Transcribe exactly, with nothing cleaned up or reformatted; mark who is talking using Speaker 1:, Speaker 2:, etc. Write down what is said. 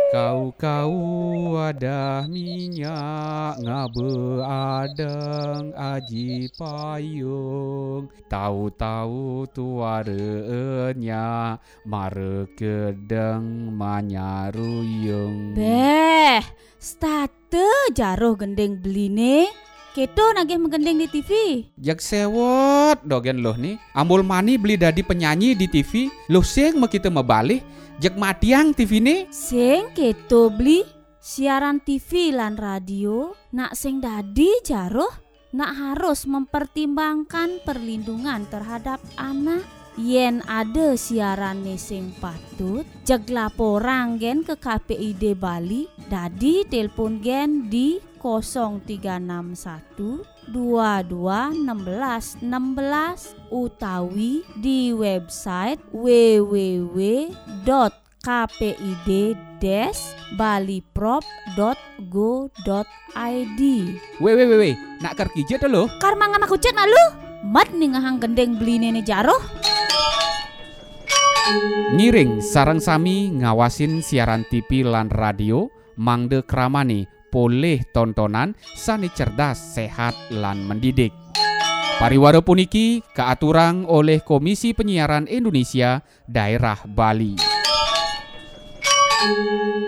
Speaker 1: Kau-kau wadah minyak ngabe adang aji payung. Tahu-tahu tuarenya mare kedeng manyaruyung.
Speaker 2: Beh, state jaruh gendeng beline. Keto nagih menggendeng di T V.
Speaker 1: Jak sewot dogen loh nih. Ambul mani beli dadi penyanyi di T V. Loh sing mau kita mebalik. Jak matiang T V nih.
Speaker 2: Sing keto beli siaran T V lan radio. Nak sing dadi jaruh nak harus mempertimbangkan perlindungan terhadap anak. Yen ada siaran sing patut, jeg laporan gen ke K P I D Bali. Dadi telepon gen di nol tiga enam satu dua dua satu enam satu enam utawi di website w w w dot k p i d dash baliprop dot go dot i d.
Speaker 1: Weh weh weh weh, nak kerja tuh lo?
Speaker 2: Karmangan aku cet lu. Mat nih ngahang gendeng beli nene jaroh.
Speaker 1: Ngiring sarang sami ngawasin siaran T V lan radio mangde kramani poleh tontonan sani cerdas, sehat lan mendidik. Pariwara puniki kaaturang oleh Komisi Penyiaran Indonesia Daerah Bali.